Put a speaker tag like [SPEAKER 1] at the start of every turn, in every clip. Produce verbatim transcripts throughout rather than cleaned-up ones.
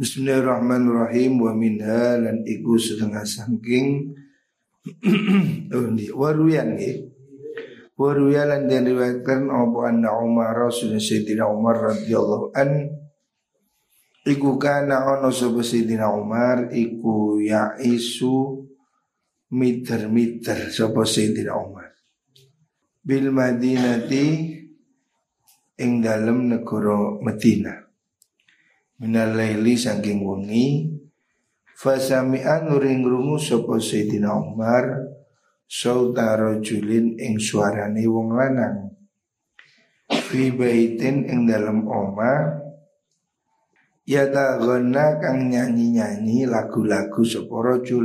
[SPEAKER 1] Bismillahirrahmanirrahim. Wa minha lan iku setengah sangking waruyan nggih. Waruyan lan den riwayatkan apa anna Umar Rasul Sayyidina Umar radhiyallahu an iku kana ana sapa Sayyidina Umar iku ya isu miter-miter sapa Sayyidina Umar bil Madinati ing dalem negara Madinah minal laili saking wengi fasami'an nuring rungu sapa Sayyidina Umar sauta rajulin ing suarane wong lanang fi baitin ing dalem omah yataghanna kang nyanyi-nyanyi lagu-lagu sapa rajul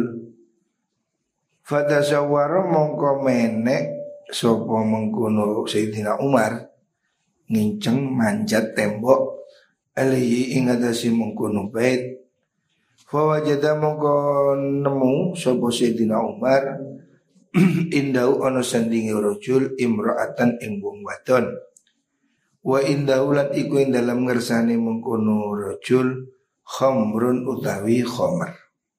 [SPEAKER 1] fatasawwara mongko menek sapa mengkono Sayyidina Umar nginceng manjat tembok alihi ing atase mengkono bait fa wajada mongko nemu sapa Sayyidina Umar indau ana sandinge rajul imra'atan ing wong wadon wa indau lan iku ing dalam ngersane mengkono rajul khamrun utawi khamr.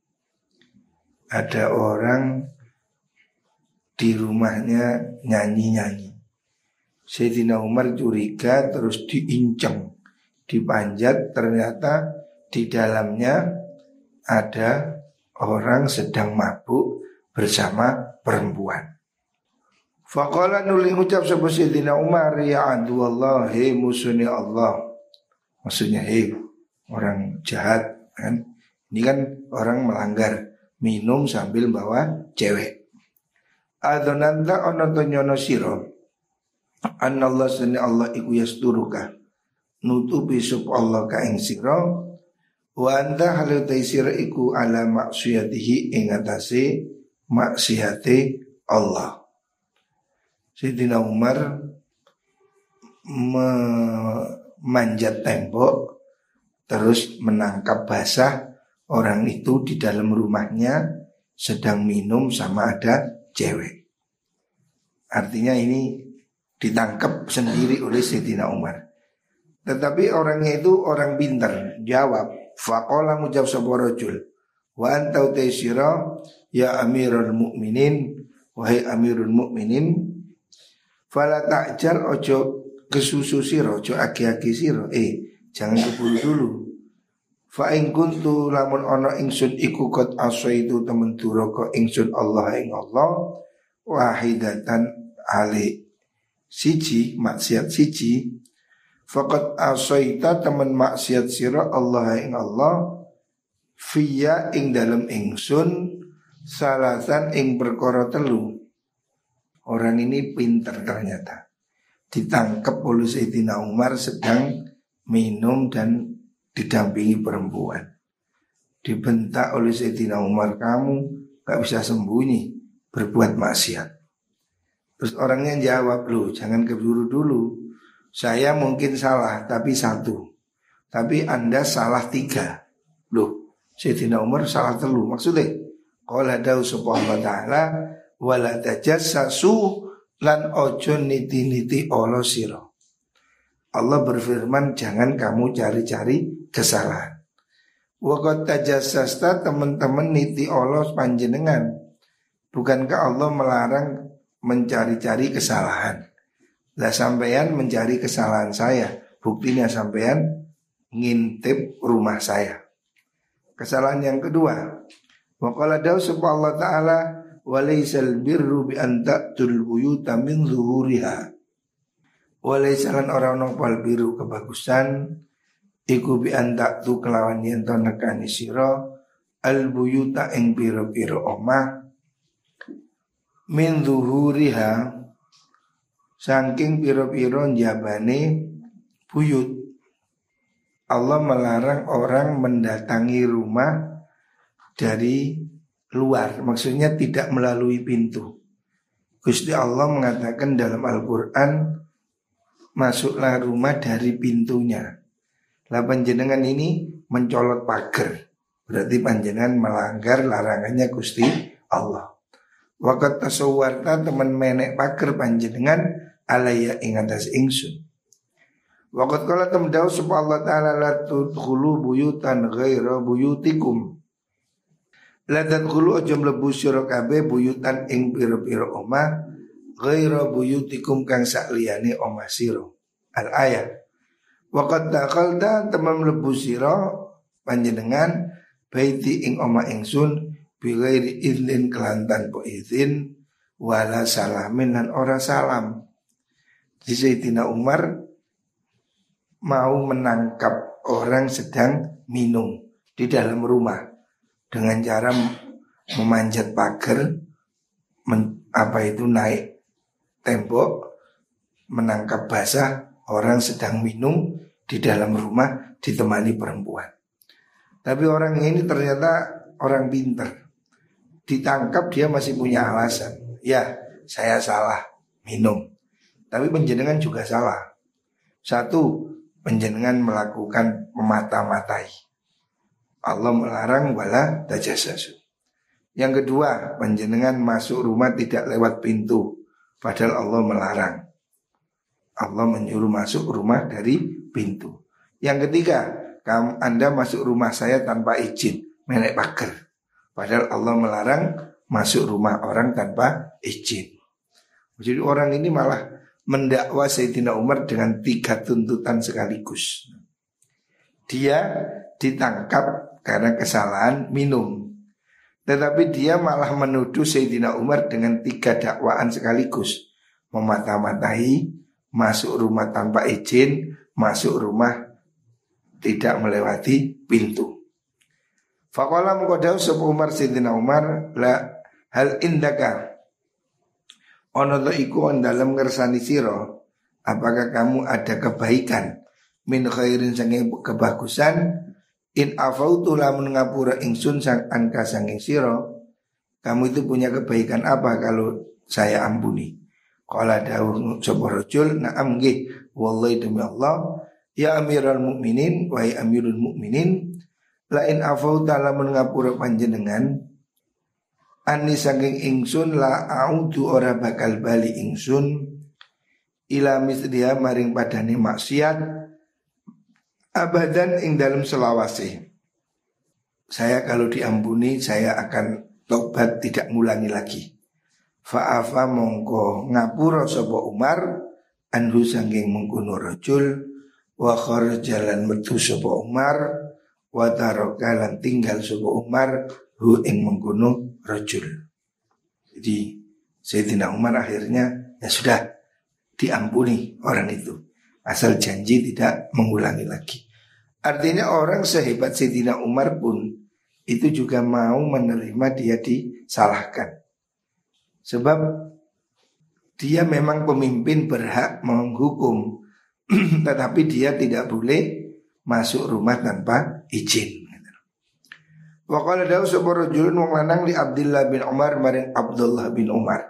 [SPEAKER 1] Ada orang di rumahnya nyanyi-nyanyi. Sayyidina Umar curiga terus diinceng, dipanjat, ternyata di dalamnya ada orang sedang mabuk bersama perempuan. Faqala nuli ucap sapa Sayyidina Umar ya adu Allah, hei musuhnya Allah. Maksudnya hei orang jahat kan. Ini kan orang melanggar, minum sambil bawa cewek. Adonanta ana to nyono sira. Anallah sunni Allah iku yasturuka. Nutupi sub Allah ka ing sira. Wa anta halu taisira iku ala maksiyatihi ing atase maksiyate Allah. Sayyidina Umar memanjat tembok terus menangkap basah orang itu di dalam rumahnya sedang minum sama ada cewek. Artinya ini ditangkap sendiri oleh Sayyidina Umar. Tetapi orangnya itu orang pintar, jawab faqala mujab sapa rajul wa anta taysira ya amirul mukminin, wahai amirul mukminin, fala ta'jal ojo kesusu sira, ojo agi-agi sira, eh jangan keburu dulu. Fa in kuntu lamun ana ingsun iku qad asaitu temen duraka ingsun Allah ing Allah wahidatan ali siji maksiat siji faqad asaita temen maksiat sira Allah ing Allah fiya ing dalem ingsun salasan ing perkara telu. Orang ini pintar ternyata. Ditangkap oleh Sayyidina Umar sedang minum dan didampingi perempuan. Dibentak oleh Sayyidina Umar, kamu gak bisa sembunyi berbuat maksiat. Terus orangnya jawab, loh jangan keburu dulu. Saya mungkin salah tapi satu, tapi Anda salah tiga. Loh Sayyidina Umar salah telu. Maksudnya qala dawu subhanahu wa ta'ala wala tajassasu lan ojo niti-niti Allah sira. Allah berfirman jangan kamu cari-cari kesalahan. Wa qad tajassasta teman-teman niti Allah panjenengan. Bukankah Allah melarang mencari-cari kesalahan? Lah sampean mencari kesalahan saya, buktinya sampean ngintip rumah saya. Kesalahan yang kedua, wa qala dawu subhanahu wa ta'ala walaisal birru bi an ta'tul buyuta min zuhuriha. Walaisalan orang nopal biru kebagusan iku bi an ta'tu kelawan yen to nekani sira al buyuta ing pira-pira omah min zuhuriha saking pira-pira njabane buyut. Allah melarang orang mendatangi rumah dari luar, maksudnya tidak melalui pintu. Gusti Allah mengatakan dalam Al-Quran, masuklah rumah dari pintunya. Lah panjenengan ini mencolot pagar, berarti panjenengan melanggar larangannya Gusti Allah. Waqat tasawwarta teman menek pagar panjenengan alaya ing atas ingsun. Waqad qala tamdahu subhanahu wa ta'ala la tudkhulu buyutan ghaira buyutikum. La tadkhulu aja mlebu sira kabeh buyutan ing pira-pira omah ghaira buyutikum kang sakliyane omah sira. Al ayat. Waqad dakhalta tamam mlebu sira panjenengan baiti ing omah ingsun bi ghairi idzin kelantan po izin wala salamin lan ora salam. Di Sayyidina Umar mau menangkap orang sedang minum di dalam rumah dengan cara memanjat pagar, men, apa itu naik tembok, menangkap basah orang sedang minum di dalam rumah ditemani perempuan. Tapi orang ini ternyata orang pintar. Ditangkap dia masih punya alasan. Ya, saya salah minum. Tapi penjenengan juga salah. Satu, penjenengan melakukan memata-matai. Allah melarang wala tajassasu. Yang kedua, penjenengan masuk rumah tidak lewat pintu, padahal Allah melarang. Allah menyuruh masuk rumah dari pintu. Yang ketiga, kamu Anda masuk rumah saya tanpa izin, menek pagar. Padahal Allah melarang masuk rumah orang tanpa izin. Jadi orang ini malah mendakwa Sayyidina Umar dengan tiga tuntutan sekaligus. Dia ditangkap karena kesalahan minum, tetapi dia malah menuduh Sayyidina Umar dengan tiga dakwaan sekaligus. Memata-matai, masuk rumah tanpa izin, masuk rumah tidak melewati pintu. Faqala mengkodau sebuah Umar Sayyidina Umar, la hal indaka ono to iku on dalam ngersani siro, apakah kamu ada kebaikan min khairin sange kebagusan in afautu lamun ngapura ingsun sang anka sanging siro, kamu itu punya kebaikan apa kalau saya ampuni? Qala dawuh sapa rajul, na'am nggih wallahi demi Allah ya Amirul Mukminin wahai Amirul Mukminin, la in afauta lamun ngapura panjenengan ani saking ingsun la audu ora bakal bali ingsun ila misdiha maring padane maksiat abadan ing dalam selawase. Saya kalau diampuni saya akan tobat tidak ngulangi lagi. Fa'afa mongko ngapura sapa Umar anhu saking mengkono rajul wa kharaja lan metu sapa Umar wa taraka lan tinggal sapa Umar hu ing mengkono rajul. Jadi Sayyidina Umar akhirnya ya sudah diampuni orang itu, asal janji tidak mengulangi lagi. Artinya orang sehebat Sayyidina Umar pun itu juga mau menerima dia disalahkan. Sebab dia memang pemimpin berhak menghukum, tetapi dia tidak boleh masuk rumah tanpa izin. Wa qala dawu sapa rajulun wong lanang li Abdullah bin Umar maring Abdullah bin Umar.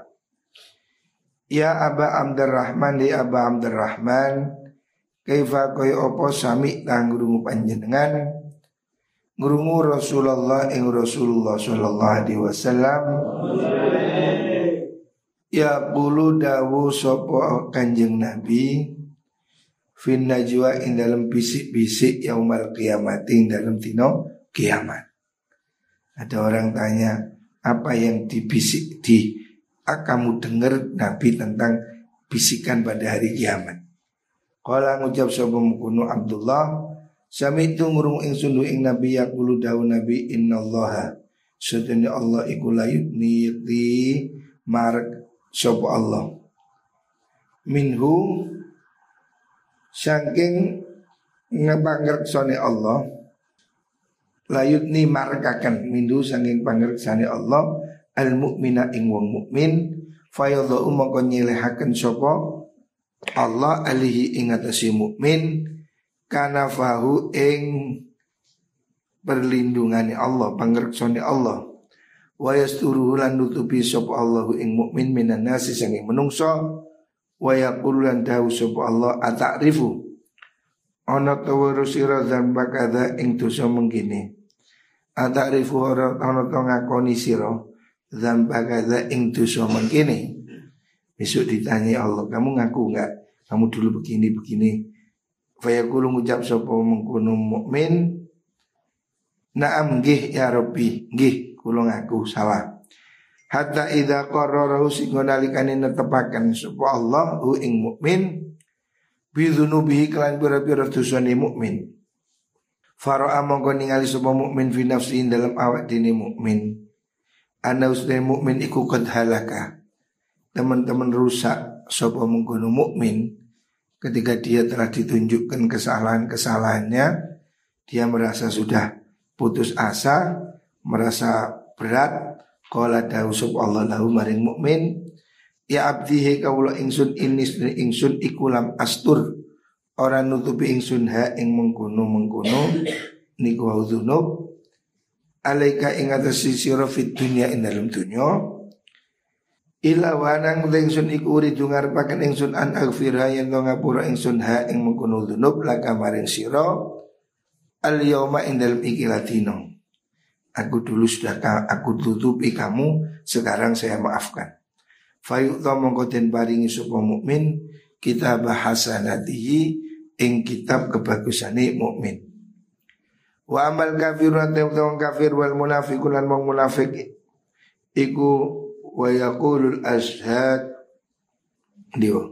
[SPEAKER 1] Ya Aba Abdurrahman li Aba Abdurrahman, kaifa kaya apa sami kang ngrungu panjenengan ngrungu Rasulullah ing Rasulullah sallallahu alaihi wasallam. Ya qulu dawu sapa Kanjeng Nabi fin najwa ing dalam bisik-bisik yaumal kiamat ing dalam dino kiamat. Ada orang tanya, apa yang dibisik di ah, kamu dengar Nabi tentang bisikan pada hari kiamat? Qala ngucap sapa mungkono Abdullah, sami itu ngurung ingsun ing Nabi yaqulu dawu Nabi innallaha sedene Allah iku layuni di marek sapa Allah minhu saking ngepangreksane Allah layutni markakan mindu sanging pangreksane Allah al mukmina ing wong mukmin fayadhu mongko nyelehaken sapa Allah alihi ing atase mukmin kana fahu ing perlindungane Allah pangreksane Allah wa yasturuhu lan nutupi sapa Allahu ing mukmin minan nasi sanging menungso wa yaqulu lan dawu sapa Allah ata'rifu ana tawara sira dzamba kadza ing dosa mengkene. Ata'rifu ora ana to ngakoni sira dzamba kadza ing dosa mengkene. Besok ditanya Allah, kamu ngaku enggak? Kamu dulu begini-begini. Fayaqulu ngucap sapa mengkono mukmin, na'am nggih ya Rabbi, nggih kula ngaku salah. Hatta idza qarrarahu sing nalikane netepaken sapa Allah hu ing mukmin bi dzunubihi kelan pira-pira dosane mukmin. Fara'a mongko ningali sapa mukmin fi nafsi dalam awak dene mukmin. Ana usne mukmin iku qad halaka. Teman-teman rusak sapa mengkono mukmin ketika dia telah ditunjukkan kesalahan-kesalahannya, dia merasa sudah putus asa, merasa berat. Qala dawu sapa Allah lahu maring mukmin, ya abdihi kawula ingsun ini ingsun iku lam astur, ora nutupi ingsun ha ing mengkono-mengkono niku dzunub alaika ing atase sira fid dunya ing dalem dunya. Ila wanang ingsun iku uridu ngarepaken ingsun an aghfira yen to ngapura ingsun ha ing mengkono dzunub laka maring sira al yauma ing dalem iki latino. Aku dulu sudah aku tutupi kamu, sekarang saya maafkan. Fayu'ta mongko den paringi sapa mukmin kitab hasanatihi ing kitab kebagusane mukmin. Wa amal kafirun ta'awun kafir wal munafiqun lan wong munafik iku wa yaqulul ashhad dio.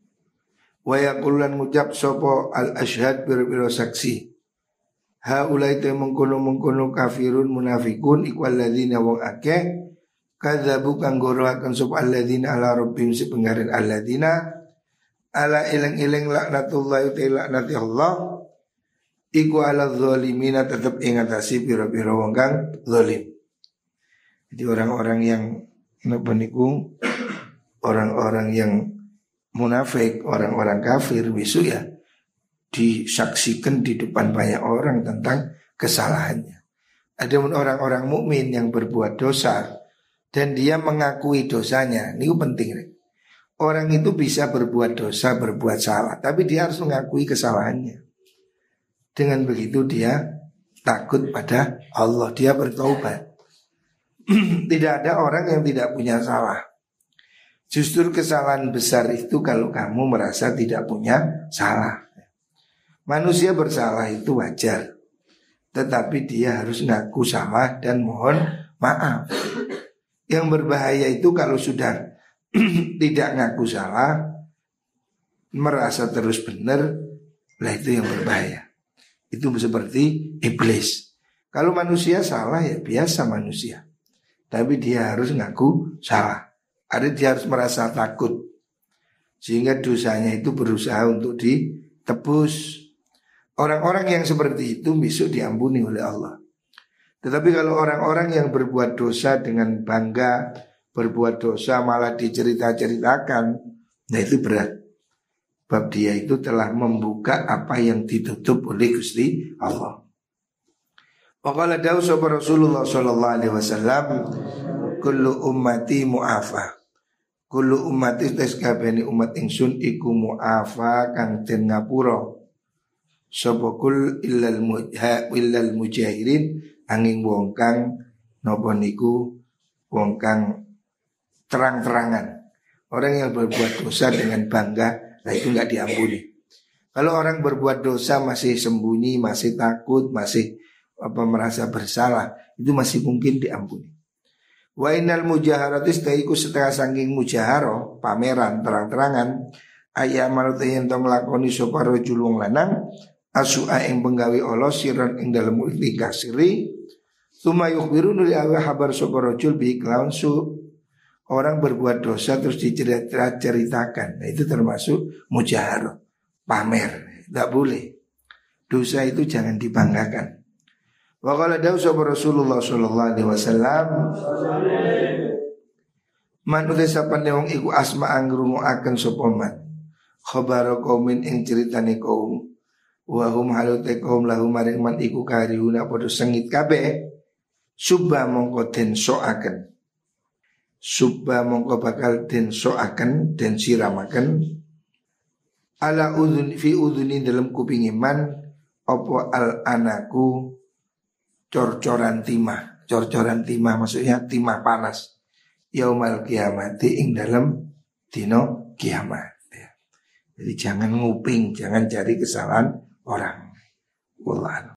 [SPEAKER 1] Wa yaqulan ngucap sapa al ashhad bir-bir saksi. Haulai te mengkono-mengkono kafirun munafikun iku alladzina wong akeh kadzabu kang goroaken sapa alladzina ala rabbihim sepenggaran alladzina ala ileng-ileng laknatullahi ta'ala laknati Allah iku ala zalimina tetep ing atase pira-pira wong kang zalim. Jadi orang-orang yang napa niku orang-orang yang munafik, orang-orang kafir besok ya disaksikan di depan banyak orang tentang kesalahannya. Ada orang-orang mukmin yang berbuat dosa dan dia mengakui dosanya. Ini penting. Orang itu bisa berbuat dosa, berbuat salah, tapi dia harus mengakui kesalahannya. Dengan begitu dia takut pada Allah, dia bertaubat. Tidak ada orang yang tidak punya salah. Justru kesalahan besar itu kalau kamu merasa tidak punya salah. Manusia bersalah itu wajar, tetapi dia harus ngaku salah dan mohon maaf. Yang berbahaya itu kalau sudah tidak ngaku salah, merasa terus benar, lah itu yang berbahaya. Itu seperti iblis. Kalau manusia salah ya biasa manusia, tapi dia harus ngaku salah. Ada dia harus merasa takut, sehingga dosanya itu berusaha untuk ditebus. Orang-orang yang seperti itu besok diampuni oleh Allah. Tetapi kalau orang-orang yang berbuat dosa dengan bangga, berbuat dosa malah dicerita-ceritakan, nah itu berat. Sebab dia itu telah membuka apa yang ditutup oleh Gusti Allah. Waqala dawu sapa Rasulullah sallallahu alaihi wasallam, kullu ummati mu'afa. Kullu ummati tes kabehane umat ingsun iku mu'afa kang den ngapura. Sapa kul illal mujha illal mujahirin angin wong kang napa niku wong kang terang-terangan. Orang yang berbuat dosa dengan bangga, nah itu enggak diampuni. Kalau orang berbuat dosa masih sembunyi, masih takut, masih apa merasa bersalah, itu masih mungkin diampuni. Wa innal mujaharatis taiku setengah saking mujaharo, pameran terang-terangan, ayamal tayen to nglakoni sapa rajul wong lanang asu'a ing penggawe Allah siran ing dalem ikhlika siri summa yukhbiru nuli awa habar sapa rajul bi kelawan su. Orang berbuat dosa terus diceritakan, nah itu termasuk mujaharo, pamer, tidak boleh. Dosa itu jangan dibanggakan. Wa qala dawu sapa Rasulullah sallallahu alaihi wasallam, man uta sapane wong iku asma angrungoaken sapa man khabara qaumin ing critane kaum wa hum halute kaum lahu maring man iku karihuna padha sengit kabeh subba mongko den soaken subba mongko bakal den soaken den siramaken ala udhun fi udhuni dalam kuping iman opo al anaku cor-coran timah. Cor-coran timah maksudnya timah panas yaumal kiamati ing dalam dino kiamat ya. Jadi jangan nguping, jangan cari kesalahan orang. Wallah.